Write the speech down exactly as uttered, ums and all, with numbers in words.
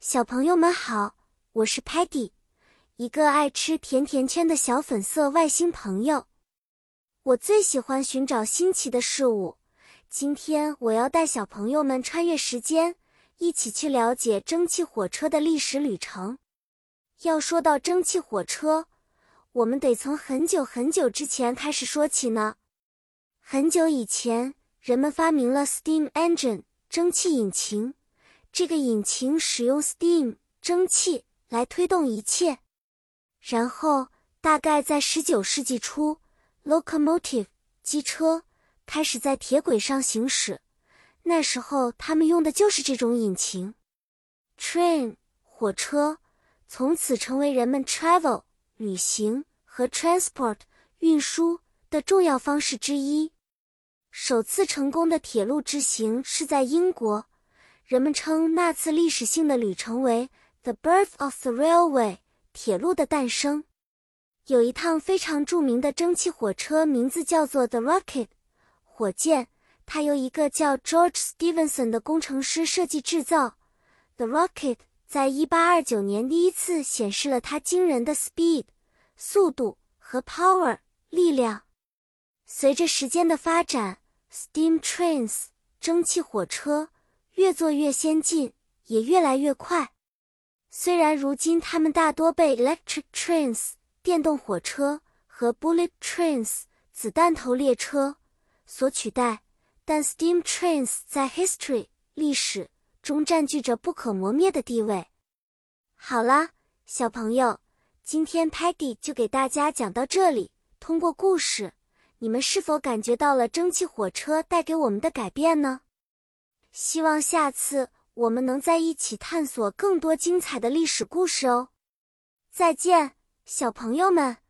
小朋友们好，我是 Patty， 一个爱吃甜甜圈的小粉色外星朋友。我最喜欢寻找新奇的事物，今天我要带小朋友们穿越时间，一起去了解蒸汽火车的历史旅程。要说到蒸汽火车，我们得从很久很久之前开始说起呢。很久以前，人们发明了 steam engine 蒸汽引擎。这个引擎使用 steam 蒸汽来推动一切。然后，大概在十九世纪初 ，locomotive 机车开始在铁轨上行驶。那时候，他们用的就是这种引擎。train 火车从此成为人们 travel 旅行和 transport 运输的重要方式之一。首次成功的铁路之行是在英国。人们称那次历史性的旅程为 The Birth of the Railway 铁路的诞生。有一趟非常著名的蒸汽火车，名字叫做 The Rocket 火箭，它由一个叫 George Stephenson 的工程师设计制造。The Rocket 在一八二九年第一次显示了它惊人的 speed 速度和 power 力量。随着时间的发展， Steam Trains 蒸汽火车越做越先进，也越来越快。虽然如今它们大多被 electric trains 电动火车和 bullet trains 子弹头列车所取代，但 steam trains 在 history 历史中占据着不可磨灭的地位。好啦，小朋友，今天 Patty 就给大家讲到这里。通过故事，你们是否感觉到了蒸汽火车带给我们的改变呢？希望下次我们能在一起探索更多精彩的历史故事哦。再见，小朋友们。